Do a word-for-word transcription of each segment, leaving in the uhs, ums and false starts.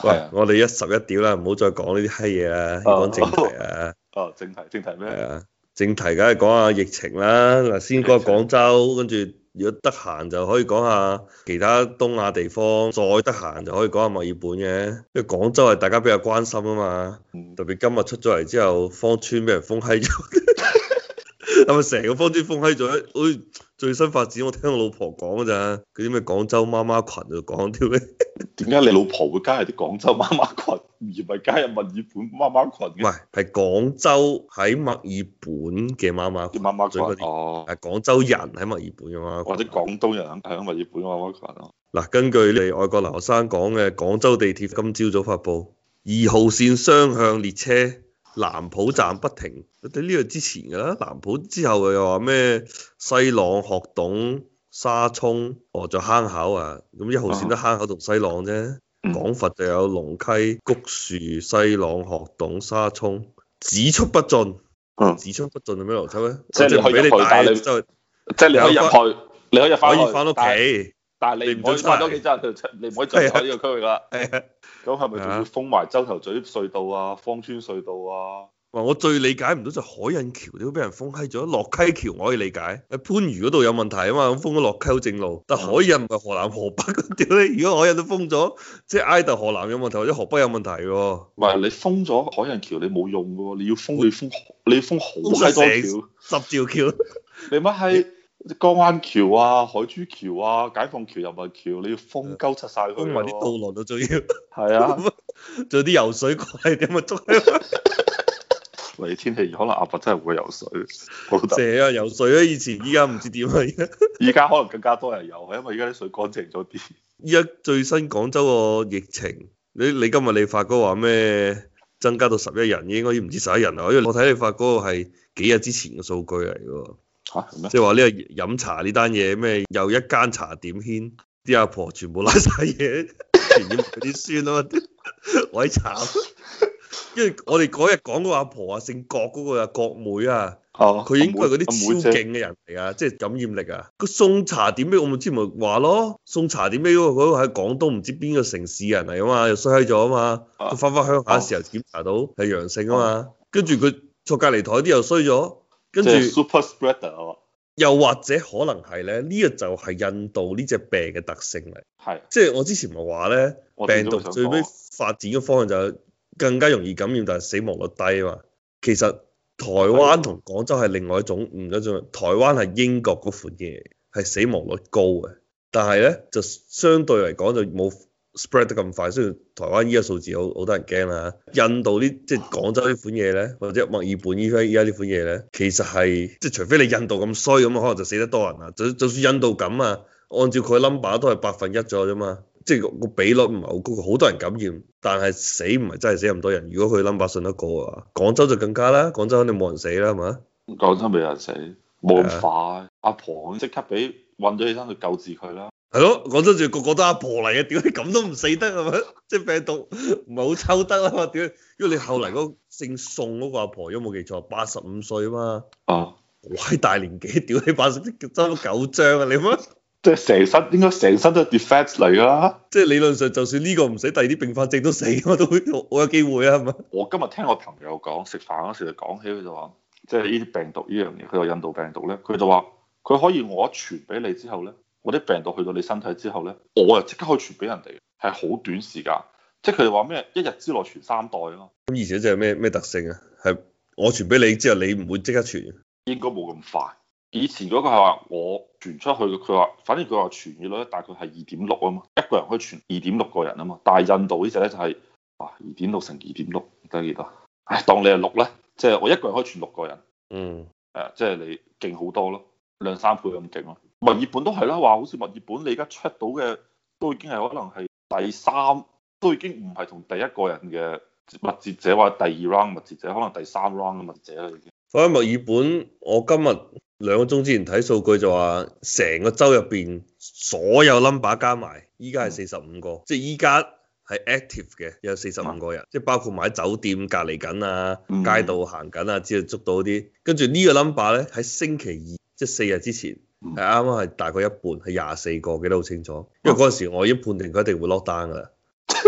喂，我哋一十一屌啦，唔好再講呢啲閪嘢啦，要講正題啊。 哦，正題正題咩？ 係啊，正題梗係講下疫情啦。嗱，先講下廣州，跟住如果得閒就可以講下其他東亞地方，再得閒就可以講下墨爾本嘅。因為廣州係大家比較關心啊嘛，特別今日出咗嚟之後，芳村俾人封閪咗，係咪成個芳村封閪咗？好似最新發展，我聽我老婆講㗎咋，嗰啲咩廣州媽媽群度講啲咩？ 點解你老婆會加入啲廣州媽媽群，而唔係加入墨爾本媽媽群嘅？ 唔係，係廣州喺墨爾本嘅媽媽群， 啲媽媽群啲哦， 係廣州人喺墨爾本嘅媽媽群， 或者廣東人喺墨爾本媽媽群咯。 嗱，根據你外國留學生講嘅，廣州地鐵今朝早發布，二號線雙向列車南浦站不停，對呢個之前㗎啦，南浦之後又話咩西朗、鶴洞、沙涌，哦，仲有坑口啊，咁一號線得坑口同西朗啫。廣佛就有龍溪、菊樹、西朗、鶴洞、沙涌，只出不進。 嗯， 只出不進係咩邏輯咧？ 即係你可以入去，但係你就即係你可以入去，你可以翻可以翻屋企， 但係你唔可以翻屋企之後，你唔可以進入呢個區域啦。咁係咪仲要封埋洲頭咀隧道啊、芳村隧道啊？ 哇！我最理解唔到就海印橋都俾人封閪咗，落溪橋我可以理解，喺番禺嗰度有問題啊嘛，咁封咗落溪好正路。但海印唔係河南河北嗰屌你，如果海印都封咗，即係挨到河南有問題或者河北有問題喎。 唔係你封咗海印橋，你冇用嘅喎，你要封你封你要封好閪多橋， 十條橋。 你乜係江灣橋啊、海珠橋啊、解放橋、人民橋，你要封鳩柒晒佢。 封埋啲道路都仲要。 係啊， 仲有啲游水怪點啊捉。 嚟天氣可能阿伯真係會游水， 成啊游水啊！以前依家唔知點啊，而家依家可能更加多人游，因為依家啲水乾淨咗啲。 依家最新廣州個疫情，你你今日你發哥話咩增加到十一人，應該唔知十一人啊，因為我睇你發哥係幾日之前嘅數據嚟嘅。 嚇咩？ 即係話呢個飲茶呢單嘢咩？又一間茶點牽啲阿婆全部拉晒嘢，傳染佢啲孫啊嘛，鬼慘！因為我哋嗰日講嗰個阿婆啊，姓郭嗰個啊，郭妹啊，佢應該係嗰啲超勁嘅人嚟啊，即係感染力啊。個送茶點俾我咪之前咪話咯，送茶點俾嗰個嗰個喺廣東唔知邊個城市人嚟啊嘛，又衰閪咗啊嘛，佢翻返鄉下嘅時候檢查到係陽性啊嘛，跟住佢坐隔離台啲又衰咗，跟住 super spreader 又或者可能係咧，呢個就係印度呢隻病嘅特性嚟， 係即係我之前咪話咧，病毒最尾發展嘅方向就係更加容易感染，但係死亡率低啊嘛。其實台灣同廣州係另外一種唔一種，台灣係英國嗰款嘢，係死亡率高嘅，但係咧就相對嚟講就冇 spread 得咁快。雖然台灣依家數字好好多人驚啦，印度呢即係廣州呢款嘢咧，或者墨爾本依家依家呢款嘢咧，其實係即係除非你印度咁衰咁可能就死得多人啦。就就算印度咁啊，按照佢 number 都係百分一左右啫嘛。即係個比率唔係好高，好多人感染，但係死唔係真係死咁多人。如果佢 number 信得過嘅話，廣州就更加啦。廣州肯定冇人死啦，係嘛？ 廣州未有人死，冇咁快。阿婆即刻俾運咗起身去救治佢啦。 係咯，廣州仲個個都阿婆嚟嘅，屌你咁都唔死得係咪？即係病毒唔係好抽得啊嘛？屌，因為你後嚟嗰姓宋嗰個阿婆，如果冇記錯，八十五歲啊嘛。 啊， 好閪大年紀，屌你八十爭咗九張啊！你乜？ 即係成身應該成身都係 defect 嚟㗎啦， 即係理論上就算呢個唔死，第二啲併發症都死，我都會我有機會啊，係咪？ 我今日聽我朋友講，食飯嗰時就講起，佢就話，即係呢啲病毒呢樣嘢，佢話印度病毒咧，佢就話佢可以我一傳俾你之後咧，我啲病毒去到你身體之後咧，我又即刻可以傳俾人哋，係好短時間，即係佢哋話咩一日之內傳三代啊嘛。 咁而且就係咩咩特性啊？係我傳俾你之後，你唔會即刻傳？ 應該冇咁快。以前嗰個係話我傳出去嘅，佢話反正佢話傳染率大概係二點六啊嘛，一個人可以傳二點六個人啊嘛。但係印度呢隻咧就係哇二點六乘二點六得幾多？唉，當你係六咧，即係我一個人可以傳六個人。 嗯， 誒，即係你勁好多咯，兩三倍咁勁咯。墨爾本都係啦，話好似墨爾本你而家 check 到嘅都已經係可能係第三，都已經唔係同第一個人嘅密接者或者第二 round 密接者，可能第三 round 嘅密接者啦已經。 所以墨爾本，我今日兩個鐘之前睇數據就話，成個州入邊所有 number 加埋，依家係四十五個，嗯、即係依家係 active 嘅有四十五個人，嗯、即係包括埋喺酒店隔離緊啊、嗯、街道行緊啊，之後捉到啲。跟住呢個 number 咧喺星期二，即係四日之前，係啱啱係大概一半，係廿四個，記得好清楚。因為嗰陣時我已經判定佢一定會落單㗎啦。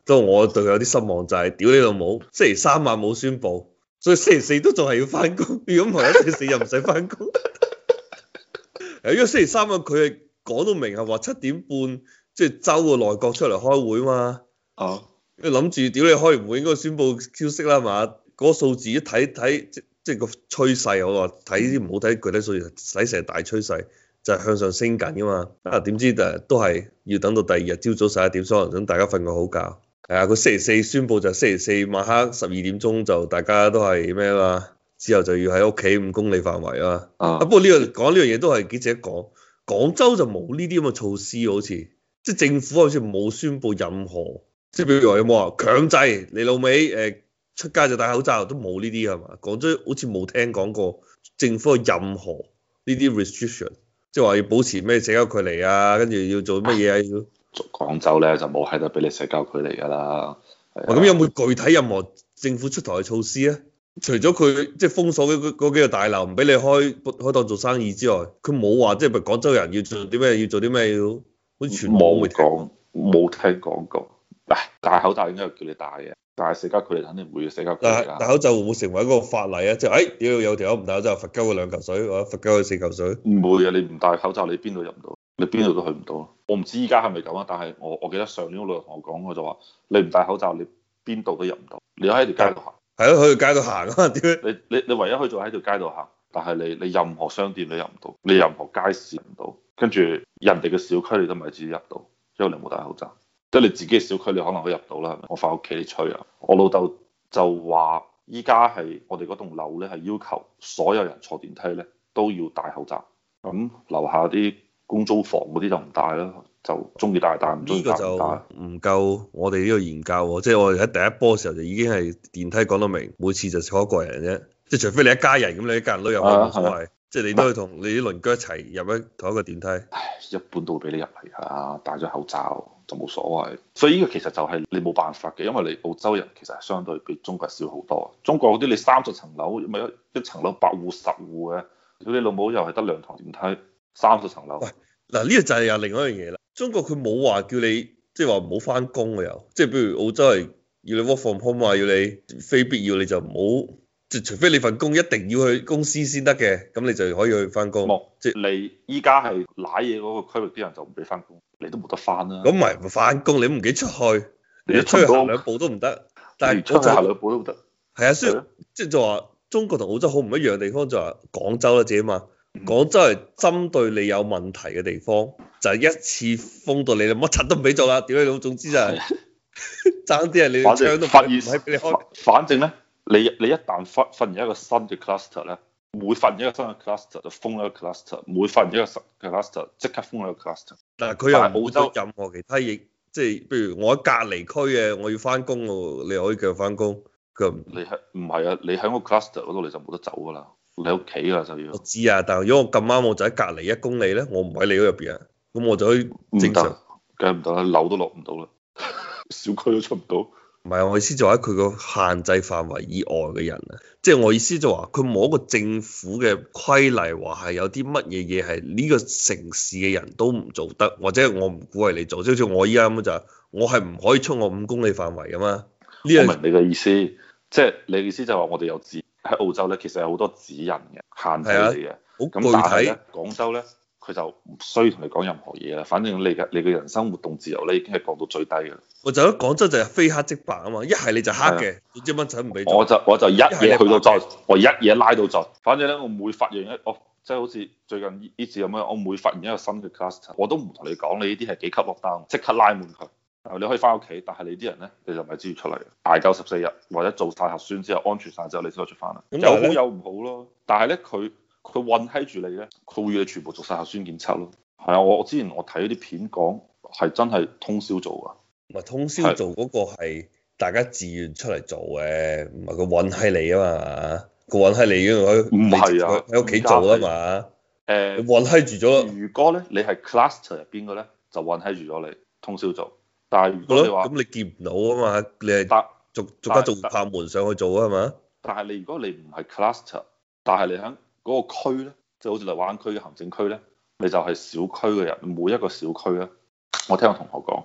都我對佢有啲失望就係、是，屌你老母，星期三晚冇宣佈，所以星期四都仲係要翻工。如果唔係，星期四又唔使翻工。誒，因為星期三晚佢係講到明係話七點半，即係周個內閣出嚟開會嘛。 哦。 因為諗住屌你開完會應該宣佈消息啦嘛，嗰、那個數字一睇睇即即係個趨勢，我話睇啲唔好睇具體數字，睇成大趨勢就係、是、向上升緊噶嘛。啊點知誒都係要等到第二日朝早十一點，所以等大家瞓個好覺。係啊，佢星期四宣佈就星期四晚黑十二點鐘就大家都係咩啊嘛，之後就要喺屋企五公里範圍啊。啊不過呢、這個講呢樣嘢都係記者講，廣州就冇呢啲咁嘅措施，好似即係政府好似冇宣佈任何。即係比如話有冇話強制你老味誒出街就戴口罩，都冇呢啲係嘛？廣州好似冇聽講過政府有任何呢啲 restriction，即係話要保持咩社交距離啊，跟住要做乜嘢啊要。 廣州咧就冇喺度俾你社交距離㗎啦。 咁有冇具體任何政府出台嘅措施啊？除咗佢即係封鎖嗰嗰幾個大樓唔俾你開開檔做生意之外，佢冇話即係廣州人要做啲咩要做啲咩要，好似全部冇講冇聽講過。嗱，戴口罩應該係叫你戴嘅，但係社交距離肯定唔會嘅社交距離。 戴口罩會唔會成為一個法例啊？即係誒，屌有條友唔戴口罩，罰鳩佢兩嚿水，或者罰鳩佢四嚿水。 唔會啊！你唔戴口罩，你邊度入唔到？你邊度都去唔到。我唔知依家係咪咁啊？但係我我記得上年我老豆同我講，我就話你唔戴口罩，你邊度都入唔到。你喺條街度行， 係咯，去條街度行啊！點解？ 你你你唯一可以做喺條街度行，但係你你任何商店你入唔到，你任何街市入唔到，跟住人哋嘅小區你都唔係自己入到，因為你冇戴口罩。即係你自己嘅小區，你可能可以入到啦，係咪？我翻屋企你吹啊！我老豆就話：依家係我哋嗰棟樓咧，係要求所有人坐電梯咧都要戴口罩。咁樓下啲公租房嗰啲就唔戴啦，就中意戴戴，唔中意戴唔戴。呢個就唔夠我哋呢個研究喎，即係我哋喺第一波嘅時候就已經係電梯講得明，每次就坐一個人啫。即係除非你一家人咁，你一家人都入去冇所謂。即係你都係同你啲鄰居一齊入一同一個電梯。 唉，一般都會俾你入嚟㗎啦，戴咗口罩就冇所謂。所以呢個其實就係你冇辦法嘅，因為你澳洲人其實係相對比中國少好多。中國嗰啲你三十層樓，咪一一層樓八戶十戶嘅，屌你老母又係得兩堂電梯，三十層樓。 喂，嗱呢個就係又另外一樣嘢啦。中國佢冇話叫你即係話唔好翻工嘅又，即係譬如澳洲係要你 work from home 啊，要你非必要你就唔好。即除非你份工一定要去公司先得嘅，咁你就可以去翻工。 冇，即係你依家係瀨嘢嗰個區域啲人就唔俾翻工，你都冇得翻啦。 咁唔係唔翻工，你唔記得出去，你出去行兩步都唔得。但係出去行兩步都唔得。係啊，所以即係就話中國同澳洲好唔一樣嘅地方就話廣州啦自己嘛，廣州係針對你有問題嘅地方，就係一次封到你，乜柒都唔俾做啦。屌你老，總之就係爭啲係你槍都唔係俾你開。 反正咧。你你一旦發發現一個新嘅 cluster 咧，每發現一個新嘅 cluster 就封一個 cluster，每發現一個新嘅 cluster 即刻封一個 cluster。 但係佢又冇咗任何其他嘢，即係譬如我喺隔離區嘅，我要翻工喎，你可以繼續翻工。佢你係唔係啊？你喺個 cluster 嗰度你就冇得走㗎啦，你喺屋企㗎就要。 我知啊，但係如果我咁啱我就喺隔離一公里咧，我唔喺你嗰入邊啊，咁我就可以正常。 梗係唔得啦，樓都落唔到啦，小區都出唔到。 唔係，我意思就喺佢個限制範圍以外嘅人啊，即係我意思就話佢冇一個政府嘅規例話係有啲乜嘢嘢係呢個城市嘅人都唔做得，或者我唔鼓勵你做，即好似我依家咁就係我係唔可以出我五公里範圍噶嘛。呢個我明你嘅意思，即係你嘅意思就係話我哋有指喺澳洲咧，其實有好多指引嘅限制嚟嘅， 好咁但係咧廣州咧。佢就唔需要同你講任何嘢啦，反正你嘅你嘅人生活動自由咧已經係降到最低嘅。 我就喺廣州就係非黑即白啊嘛，一係你就黑嘅，總之乜柒唔俾做。 我就我就一嘢去到盡，我一嘢拉到盡。反正咧，我每發現一我即係好似最近呢次咁樣，我每發現一個新嘅 cluster，我都唔同你講你呢啲係幾級 lockdown，即刻拉滿佢。你可以翻屋企，但係你啲人咧你就咪知要出嚟，捱夠十四日或者做晒核酸之後安全晒之後，你先可以出翻嚟。有好有唔好咯，但係咧佢佢韞喺住你咧，佢會要你全部做晒核酸檢測咯。係啊，我我之前我睇啲片講係真係通宵做啊。 唔係通宵做嗰個係大家自願出嚟做嘅，唔係佢韞喺你啊嘛，佢韞喺你嗰度， 唔係啊， 喺屋企做啊嘛。誒，韞喺住咗。 如果咧你係 cluster 入邊嘅咧，就韞喺住咗你通宵做。但係如果你話咁你見唔到啊嘛，你係逐逐家逐拍門上去做啊嘛。 但係你如果你唔係 cluster，但係你喺嗰個區咧，即係好似荔灣區嘅行政區咧。你就係小區嘅人，每一個小區咧，我聽我同學講，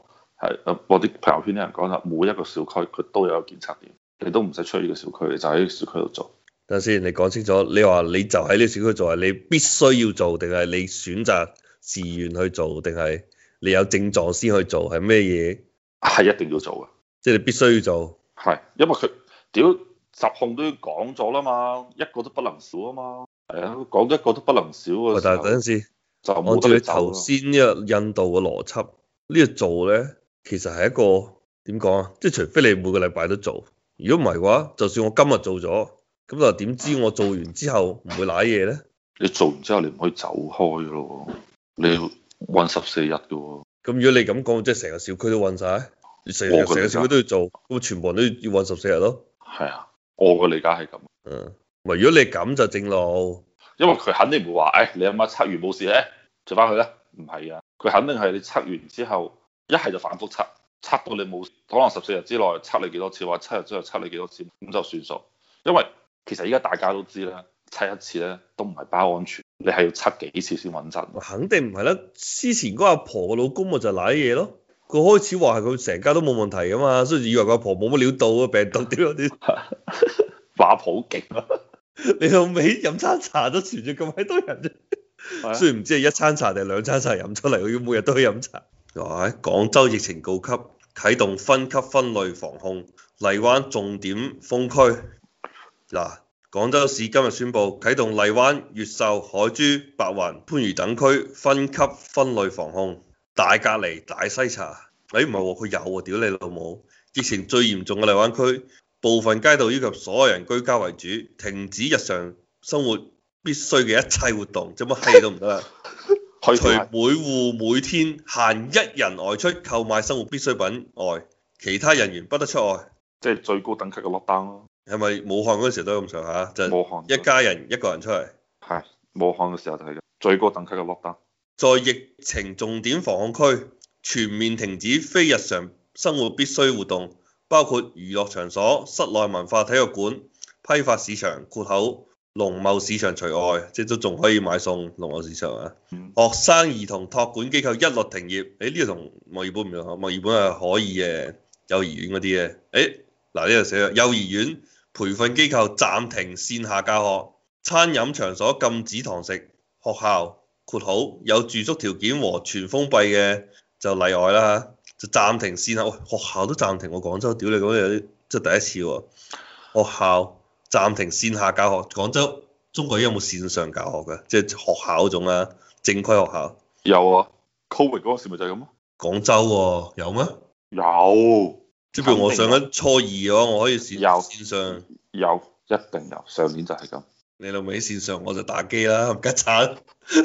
係啊，我啲朋友圈啲人講啦，每一個小區佢都有一個檢測點，你都唔使出呢個小區，你就喺呢個小區度做。 等下先，你講清楚，你話你就喺呢個小區做，係你必須要做，定係你選擇自願去做，定係你有症狀先去做，係咩嘢？ 係一定要做嘅， 即係你必須要做。 係，因為佢屌疾控都要講咗啦嘛，一個都不能少啊嘛。係啊，講一個都不能少嘅時候。 但係等陣先， 就按照你頭先呢個印度嘅邏輯，呢個做咧，其實係一個點講啊？即係除非你每個禮拜都做，如果唔係嘅話，就算我今日做咗，咁就點知我做完之後唔會瀨嘢咧？ 你做完之後你唔可以走開咯，你要韞十四日嘅喎。咁如果你咁講，即係成個小區都韞晒，你成成個小區都要做，咁全部人都要韞十四日咯。 係啊，我嘅理解係咁。 嗯，唔係如果你咁就正路，因為佢肯定唔會話，誒、哎、你阿媽測完冇事咧，做翻去咧，唔係啊，佢肯定係你測完之後，一係就反覆測，測到你冇，可能十四日之內測你幾多次，或者七日之後測你幾多次，咁就算數。因為其實依家大家都知啦，測一次咧都唔係包安全，你係要測幾次先穩陣。 肯定唔係啦，之前嗰阿婆個老公咪就瀨嘢咯。佢開始話係佢成家都冇問題噶嘛，所以以為個阿婆冇乜料到啊，病毒點啊點， 話婆好勁啊！ 你老味飲餐茶都傳咗咁閪多人啫，雖然唔知係一餐茶定係兩餐茶飲出嚟，佢每日都去飲茶。哇！廣州疫情告急，啟動分級分類防控，荔灣重點封區。嗱，廣州市今日宣布啟動荔灣、越秀、海珠、白雲、番禺等區分級分類防控。大隔離、大篩查，誒唔係喎，佢有喎，屌你老母！疫情最嚴重嘅荔灣區，部分街道要求所有人居家為主，停止日常生活必須嘅一切活動，做乜閪都唔得啦。除每戶每天限一人外出購買生活必需品外，其他人員不得出外。 即係最高等級嘅 lockdown 咯。 係咪武漢嗰陣時都咁上下？就武漢一家人一個人出嚟。 係武漢嘅時候就係最高等級嘅 lockdown。 在疫情重點防控區，全面停止非日常生活必需活動，包括娛樂場所、室內文化體育館、批發市場（括號農貿市場除外），即係都仲可以買餸。農貿市場啊，嗯、學生兒童託管機構一律停業。誒呢個同墨爾本唔同，墨爾本係可以嘅，幼兒園嗰啲嘅。誒嗱呢度寫咗，幼兒園培訓機構暫停線下教學，餐飲場所禁止堂食，學校。括好有住宿條件和全封閉嘅就例外啦，就暫停線下。喂，學校都暫停，我廣州屌你講有啲即係第一次喎。學校暫停線下教學，廣州中國有冇線上教學嘅？即係學校嗰種啊，正規學校。有啊 Covid 嗰時咪就係咁咯。 廣州喎，有咩？ 有。 即係譬如我上緊初二嘅話，我可以線有線上。 有，一定有。上年就係咁。 你老味線上我就打機啦，唔吉鏟。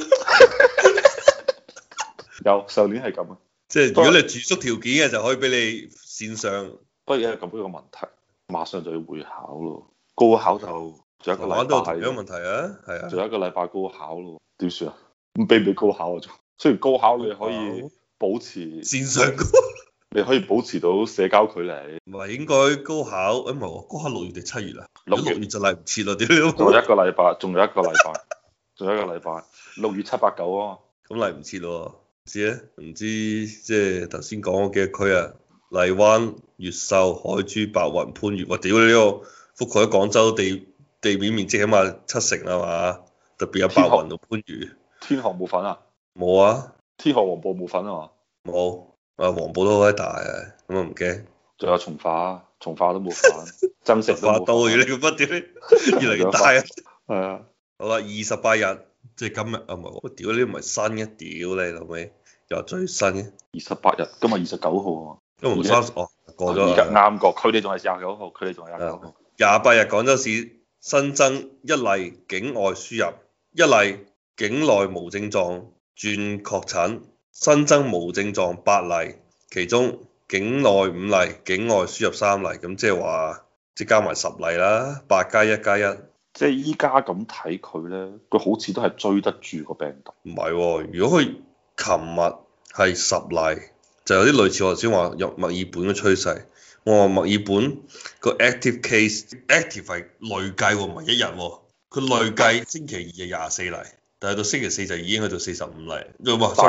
有上年係咁啊， 即係如果你住宿條件嘅就可以俾你線上。 不過而家咁樣個問題，馬上就要會考咯，高考就仲有一個禮拜。 有問題啊，係啊， 仲有一個禮拜高考咯，點算啊？咁俾唔俾高考啊？仲雖然高考你可以保持線上高， 你可以保持到社交距離。 唔係應該高考？誒唔係喎，高考六月定七月啊？六月就嚟唔切咯，屌！ 仲有一個禮拜，仲有一個禮拜，仲有一個禮拜，六月七八九啊。 咁嚟唔切咯。知咧，唔知即係頭先講嗰幾個區啊，荔灣、越秀、海珠、白雲、番禺，我屌你呢個覆蓋喺廣州地地面面積起碼七成啊嘛，特別有白雲同番禺。 天河冇份啊？冇啊。 天河黃埔冇份啊嘛？ 冇，啊黃埔都好大啊，咁啊唔驚。 仲有從化，從化都冇份，增城都冇份。 到而你個乜屌？越嚟越大啊！ 係啊。 好啦，二十八日。即係今日啊，唔係我屌你唔係新嘅，屌你老味又最新嘅。 二十八日，今日二十九號啊。 今日三十哦，過咗。 而家啱過，佢哋仲係廿九號，佢哋仲係廿九號。 廿八日廣州市新增一例境外輸入，一例境內無症狀轉確診，新增無症狀八例，其中境內五例，境外輸入三例，咁即係話即係加埋十例啦，八加一加一。 即係依家咁睇佢咧，佢好似都係追得住個病毒。 唔係喎，如果佢琴日係十例，就有啲類似我頭先話入墨爾本嘅趨勢。我話墨爾本個 active case，active 係累計喎，唔係一日喎。佢累計星期二係廿四例，但係到星期四就已經去到四十五例。唔係，sorry，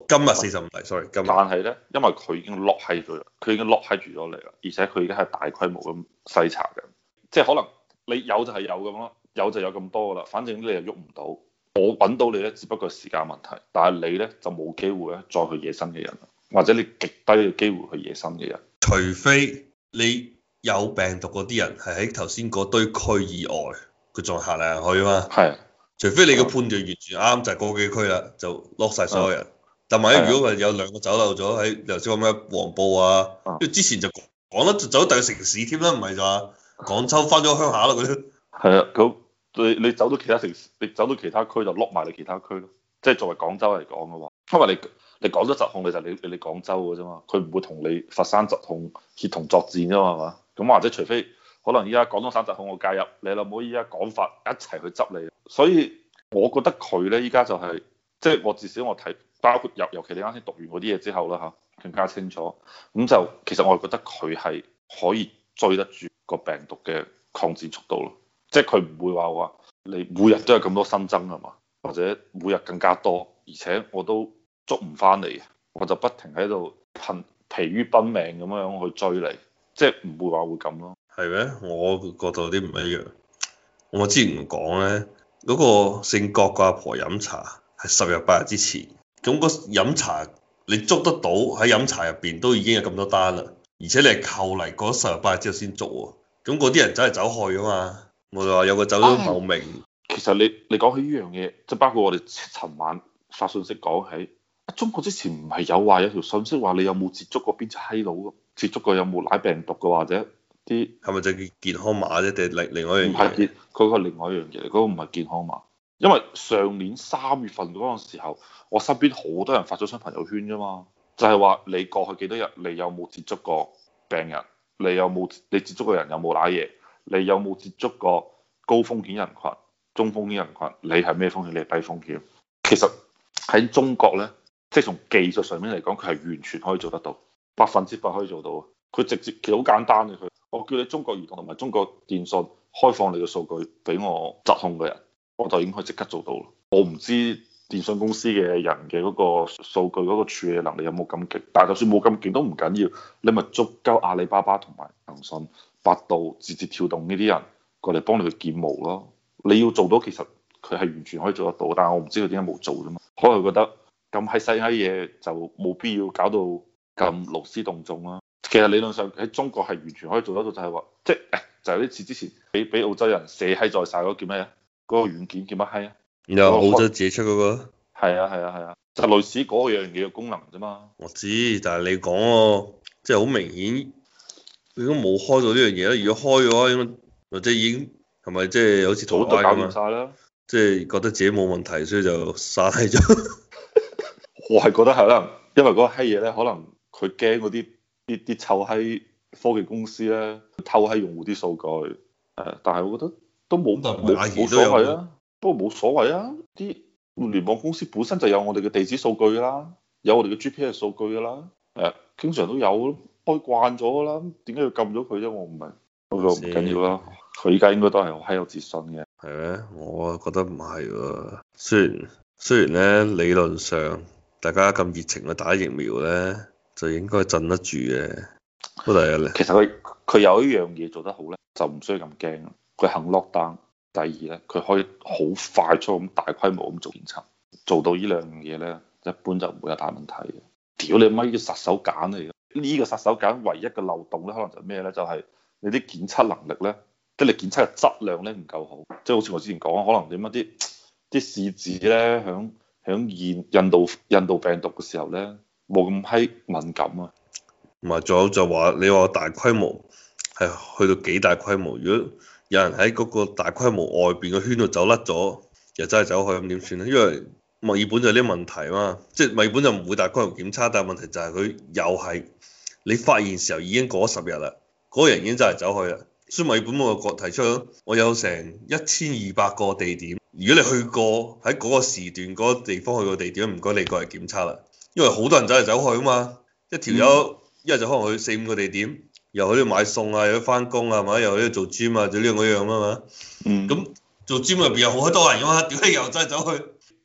今日四十五例，sorry，今日。 但係咧，因為佢已經 lock 喺咗，佢已經 lock 喺住咗嚟啦，而且佢而家係大規模咁篩查嘅，即係可能你有就係有咁咯，有就有咁多噶啦，反正你又喐唔到，我揾到你咧，只不過係時間問題，但係你咧就冇機會咧再去惹新嘅人，或者你極低嘅機會去惹新嘅人， 除非你有病毒嗰啲人係喺頭先嗰堆區以外，佢仲行嚟行去啊嘛。係係。 除非你個判斷完全啱，就係嗰幾區啦，就 lock 曬所有人。但萬一如果係有兩個走漏咗喺頭先講咩黃埔啊，因為之前就講得就走第個城市添啦，唔係就話廣州翻咗鄉下啦嗰啲。 係啊，咁你你走到其他城市，你走到其他區就 lock 埋你其他區咯。即係作為廣州嚟講嘅話，因為你你廣州疾控你就你你你廣州嘅啫嘛，佢唔會同你佛山疾控協同作戰啫嘛，係嘛？咁或者除非可能依家廣東省疾控我介入，你老母依家廣法一齊去執你。所以我覺得佢咧依家就係即係我至少我睇，包括尤尤其你啱先讀完嗰啲嘢之後啦嚇，更加清楚。咁就其實我係覺得佢係可以追得住個病毒嘅擴展速度咯，即係佢唔會話話你每日都有咁多新增係嘛，或者每日更加多，而且我都捉唔翻嚟，我就不停喺度疲疲於奔命咁樣去追你，即係唔會話會咁咯。 係咩？我覺得有啲唔一樣。我之前講咧，嗰、嗰個姓郭個阿婆飲茶係十日八日之前，咁個飲茶你捉得到喺飲茶入邊都已經有咁多單啦，而且你係扣嚟過咗十日八日之後先捉喎，咁嗰啲人走嚟走去啊嘛。我就話有個走咗茂名。 其實你你講起呢樣嘢，即係包括我哋尋晚發信息講起，中國之前唔係有話有條信息話你有冇接觸過邊隻閪佬，接觸過有冇奶病毒嘅，或者啲係咪就叫健康碼啫？定係另另外一樣嘢？ 唔係健，佢個另外一樣嘢嚟，嗰個唔係健康碼。因為上年三月份嗰陣時候，我身邊好多人發咗張朋友圈啫嘛，就係話你過去幾多日，你有冇接觸過病人，你有冇你接觸過人有冇瀨嘢，你有冇接觸過高風險人群、中風險人群，你係咩風險？你係低風險。其實喺中國呢，即係從技術上面嚟講，佢係完全可以做得到，百分之百可以做到。佢直接其實好簡單嘅，佢我叫你中國移動同埋中國電信開放你嘅數據俾我疾控嘅人，我就已經可以即刻做到咯。我唔知電信公司嘅人嘅嗰個數據嗰個處理能力有冇咁勁，但係就算冇咁勁都唔緊要，你咪捉鳩阿里巴巴同埋騰訊、百度、字節跳動呢啲人過嚟幫你去建模咯。你要做到，其實佢係完全可以做得到，但係我唔知佢點解冇做啫嘛。可能佢覺得咁閪細閪嘢就冇必要搞到咁勞師動眾啦。其實理論上喺中國係完全可以做得到，就係話即係誒，就係呢次之前俾俾澳洲人射閪在晒嗰個叫咩啊？嗰個軟件叫乜閪啊？ 然後澳洲自己出嗰個？ 係啊係啊係啊，就類似嗰樣嘢嘅功能啫嘛。 我知，但係你講喎，即係好明顯，佢都冇開到呢樣嘢啦。如果開嘅話，應該或者已經係咪即係好似早都搞掂晒啦？ 即係覺得自己冇問題，所以就散閪咗。 我係覺得係啦，因為嗰個閪嘢咧，可能佢驚嗰啲啲啲臭閪科技公司咧偷閪用戶啲數據。誒，但係我覺得都冇冇冇所謂啊。不過冇所謂啊，啲互聯網公司本身就有我哋嘅地址數據㗎啦，有我哋嘅 G P S 數據㗎啦。誒，經常都有，開慣咗㗎啦，點解要禁咗佢啫？我唔明。不過唔緊要啦，佢依家應該都係好閪有自信嘅。 係咩？我覺得唔係喎。雖然雖然咧理論上大家咁熱情去打疫苗咧，就應該鎮得住嘅。不過第一咧， 其實佢佢有一樣嘢做得好咧，就唔需要咁驚。佢肯 lock down。第二咧，佢可以好快速咁大規模咁做檢測，做到呢兩樣嘢咧，一般就唔會有大問題嘅。屌你媽，呢個殺手鐧嚟嘅！呢個殺手鐧唯一嘅漏洞咧，可能就係咩咧？就係你啲檢測能力咧，即係你檢測嘅質量咧唔夠好。即係好似我之前講，可能點乜啲啲試紙咧，響響驗印度印度病毒嘅時候咧，冇咁閪敏感啊。 唔係，仲有就話你話大規模係去到幾大規模？如果有人喺嗰個大規模外邊個圈度走甩咗，又真係走去咁點算咧？因為墨爾本就有啲問題嘛，即係墨爾本就唔會大規模檢測，但係問題就係佢又係你發現時候已經過咗十日啦，嗰個人已經真係走去啦。所以墨爾本我個提出，我有成一千二百個地點，如果你去過喺嗰個時段嗰個地方去個地點，唔該你過嚟檢測啦，因為好多人走嚟走去啊嘛，一條友一日就可能去四五個地點。又喺度買餸啊，又喺度翻工啊，係咪？又喺度做 gym 啊，做呢樣嗰樣啊嘛。嗯。咁做 gym 入邊有好多人噶嘛，屌你又真係走去，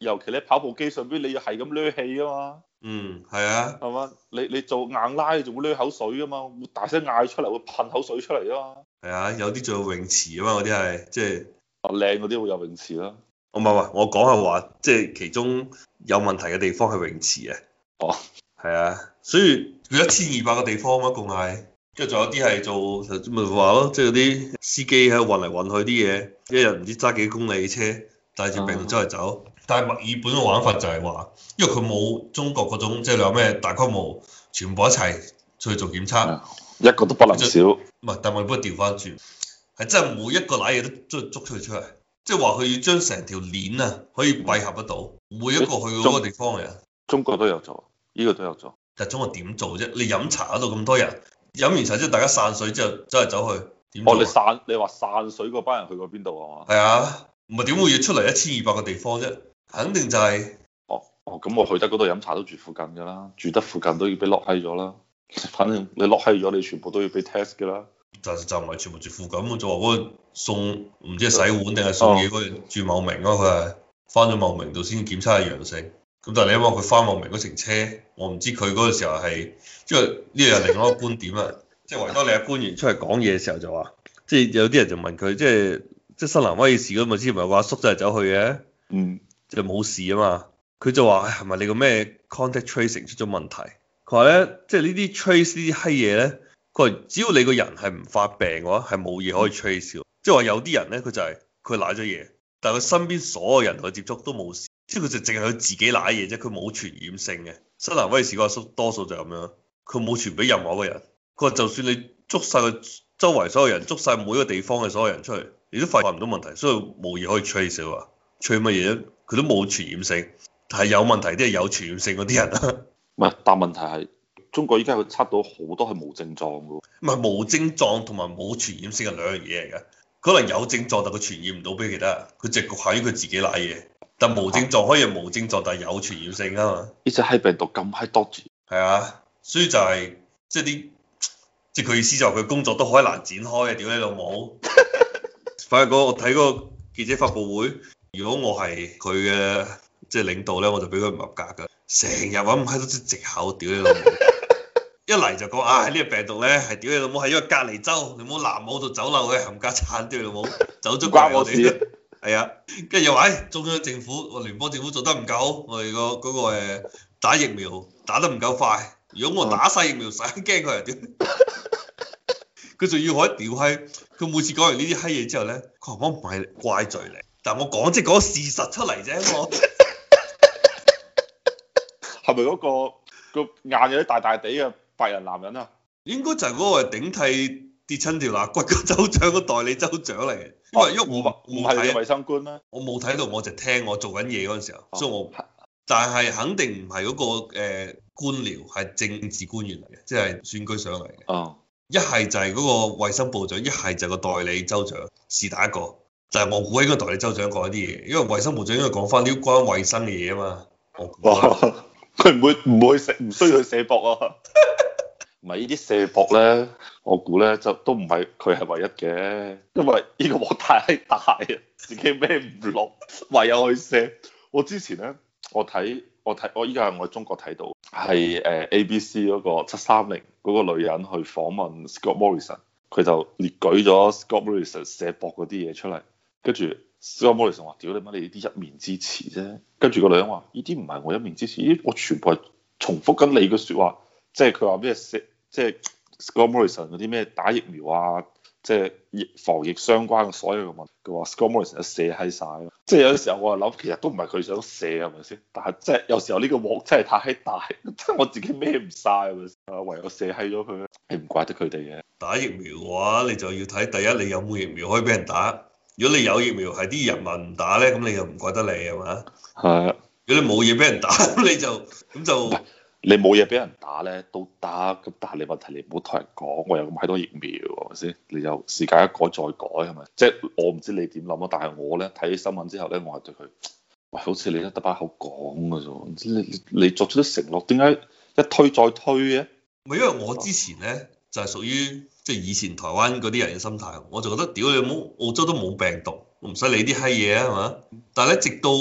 尤其你跑步機上邊，你要係咁攣氣啊嘛。 嗯，係啊， 係嘛？你你做硬拉，你仲會攣口水噶嘛？會大聲嗌出嚟，會噴口水出嚟啊嘛。 係啊，有啲仲有泳池啊嘛，嗰啲係即係。 啊，靚嗰啲會有泳池啦。 我唔係話，我講係話，即係其中有問題嘅地方係泳池啊。 哦， 係啊，所以佢一千二百個地方啊嘛，共係，跟住仲有啲係做咪話咯，即係嗰啲司機喺度運嚟運去啲嘢，一日唔知揸幾公里車，帶住病毒周圍走。但係墨爾本嘅玩法就係話，因為佢冇中國嗰種，即係你話咩大規模全部一齊出去做檢測， 一個都不能少。 唔係，但係我幫佢調翻轉，係真係每一個攋嘢都捉捉出去出嚟，即係話佢要將成條鏈啊可以閉合得到，每一個去嗰個地方嘅人。 中國都有做，呢個都有做。 但係中國點做啫？你飲茶嗰度咁多人，飲完茶之後大家散水之後走嚟走去，點做？ 哦，你散你話散水嗰班人去過邊度啊？嘛？ 係啊，唔係點會要出嚟一千二百個地方啫？肯定就係、是。 哦哦，咁我去得嗰度飲茶都住附近㗎啦，住得附近都要俾落閪咗啦。反正你落閪咗，你全部都要俾 test 㗎啦。就就唔係全部住附近，就話嗰個送唔知係洗碗定係送嘢嗰個住茂名咯，佢係翻咗茂名度先檢測係陽性。咁但係你因為佢翻茂名嗰程車，我唔知佢嗰個時候係，因為呢個係另外一個觀點啊。即係維多利亞官員出嚟講嘢嘅時候就話，即係有啲人就問佢，即係即係新南威爾士嗰咪之前咪有個阿叔走嚟走去嘅， 嗯， 就冇事啊嘛。佢就話係咪你個咩 contact tracing 出咗問題？佢話咧，即係呢啲 trace 呢啲閪嘢咧，佢話只要你個人係唔發病嘅話，係冇嘢可以 trace 嘅。即係話有啲人咧，佢就係佢攋咗嘢，但係佢身邊所有人同佢接觸都冇事，即係佢就淨係佢自己攋嘢啫，佢冇傳染性嘅。新南威爾士個阿叔多數就係咁樣，佢冇傳俾任何一個人。佢話就算你捉晒佢周圍所有人，捉晒每一個地方嘅所有人出嚟，你都發現唔到問題，所以冇嘢可以 trace 啊。trace 乜嘢咧？佢都冇傳染性，係有問題啲係有傳染性嗰啲人啊。 唔係，但問題係中國依家佢測到好多係冇症狀嘅喎。 唔係無症狀同埋冇傳染性係兩樣嘢嚟嘅。可能有症狀但佢傳染唔到俾其他人，佢直局限於佢自己攋嘢。但無症狀可以係無症狀，但係有傳染性啊嘛。 呢隻閪病毒咁閪多住。 係啊，所以就係即係啲，即係佢意思就係佢工作都好難展開嘅，屌你老母！反正我睇嗰個記者發佈會，如果我係佢嘅即係領導咧，我就俾佢唔合格㗎。成日揾咁閪多啲藉口，屌你老母！一嚟就講啊，呢、這個病毒咧係屌你老母，係因為隔離州，你冇南澳度走漏嘅冚家鏟，屌你老母，走咗關我事。係啊，跟住又話誒中央政府、我聯邦政府做得唔夠好，我哋個嗰個誒打疫苗打得唔夠快。如果我打晒疫苗，使驚佢啊屌！佢仲要我一屌閪，佢每次講完呢啲閪嘢之後咧，佢話我唔係怪罪你，但係我講即係講事實出嚟啫，我。 係咪嗰個個眼有啲大大地嘅白人男人啊？ 應該就係嗰個頂替跌親條肋骨個州長個代理州長嚟嘅。因為喐我唔係衛生官咩？ 我冇睇到，我就聽我做緊嘢嗰陣時候，哦、所以我但係肯定唔係嗰個誒官僚，係政治官員嚟嘅，即係選舉上嚟嘅。 哦， 一係就係嗰個衛生部長，一係就係個代理州長，是但一個。但係我估應該代理州長講一啲嘢，因為衛生部長應該講翻啲關衛生嘅嘢啊嘛。我估。 佢唔會唔會射，唔需要去射博啊！唔係呢啲射博咧，我估咧就都唔係佢係唯一嘅，因為呢個鑊太大啊，自己孭唔落，唯有去射。我之前咧，我睇我睇我依家係我喺中國睇到，係誒 A B C 嗰個七三零嗰個女人去訪問 Scott Morrison，佢就列舉咗 Scott Morrison 射博嗰啲嘢出嚟，跟住 Scott Morrison 話：屌你媽，你呢啲一面之詞啫。跟住個女人話：呢啲唔係我一面之詞，呢啲我全部係重複緊你嘅説話。即係佢話咩射，即係 Scott Morrison 嗰啲咩打疫苗啊，即係疫防疫相關嘅所有嘅問題。佢話 Scott Morrison 一射閪晒。即係有啲時候我係諗，其實都唔係佢想射係咪先？但係即係有時候呢個鑊真係太大，即係我自己孭唔晒係咪先？唯有射閪咗佢。你唔怪得佢哋嘅。打疫苗嘅話，你就要睇第一，你有冇疫苗可以俾人打。如果你有疫苗係啲人民唔打咧，咁你又唔怪得你係嘛？係啊。如果你冇嘢俾人打，咁你就咁就你冇嘢俾人打咧都得。咁但係你問題，你唔好同人講我有咁閪多疫苗係咪先？你就時間一改再改係咪？即係我唔知你點諗啊。但係我咧睇新聞之後咧，我係對佢喂，好似你得得把口講嘅啫。唔知你你作出啲承諾，點解一推再推嘅？唔係因為我之前咧就係屬於即係以前台灣嗰啲人嘅心態，我就覺得屌你冇澳洲都冇病毒，我唔使理啲閪嘢啊係嘛。但係咧直到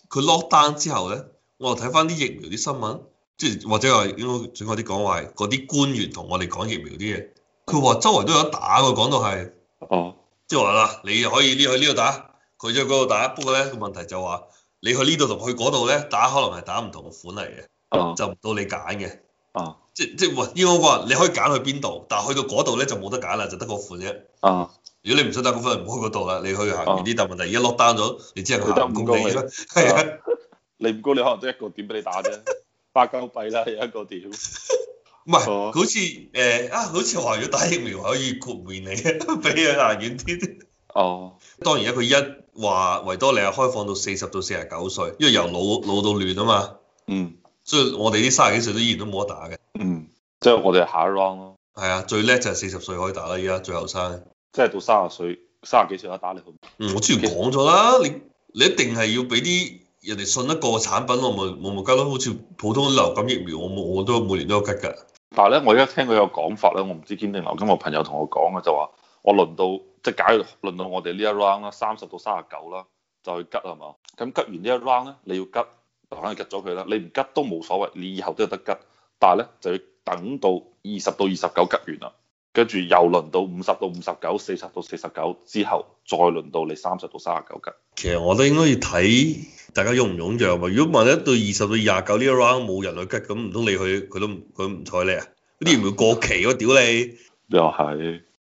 佢 lock down 之後咧，我又睇翻啲疫苗啲新聞，即係或者係應該準確啲講話係嗰啲官員同我哋講疫苗啲嘢，佢話周圍都有得打喎，講到係， 哦， 即係話啦，你又可以呢去呢度打，佢就去嗰度打，不過咧個問題就話你去呢度同去嗰度咧打，可能係打唔同嘅款嚟嘅， 哦， 就唔到你揀嘅。 啊， 即即話應該話你可以揀去邊度，但係去到嗰度咧就冇得揀啦，就得個款啫。 啊， 如果你唔想打嗰款，唔好去嗰度啦，你去行遠啲。但問題而家 lock down 咗，你只係你得行五公里五公里啦。係啊， 你唔高你可能得一個點俾你打啫，八鳩幣啦有一個點。 唔係，好似誒啊，好似話如果打疫苗可以豁免你，俾佢行遠啲。 哦， 當然啦，佢一話維多利亞開放到四十到四十九歲，因為由老老到嫩啊嘛。 嗯。 所以我哋啲三十幾歲都依然都冇得打嘅。 嗯。即係我哋係下一 round 咯。 係啊，最叻就係四十歲可以打啦，而家最後生。 即係到三十歲、三十幾歲有得打你去。 嗯，我之前講咗啦，你你一定係要俾啲人哋信得過嘅產品，我咪我咪吉咯。好似普通流感疫苗，我冇我都每年都有吉㗎。 但係咧，我而家聽佢有講法咧，我唔知堅定流。咁我朋友同我講嘅就話，我輪到即係假如輪到我哋呢一 round 啦，三十到三十九啦，就去吉係嘛？咁吉完呢一 round 咧，你要吉，就肯定吉咗佢啦。你唔吉都冇所謂，你以後都有得吉。但係咧就要等到二十到二十九吉完啦，跟住又輪到五十到五十九、四十到四十九之後，再輪到你三十到三十九吉。 其實我覺得應該要睇大家踴唔踴躍喎。如果萬一到二十到廿九呢一 round 冇人去吉，咁唔通你去佢都佢唔睬你啊？嗰啲唔會過期喎，屌你！ 又係。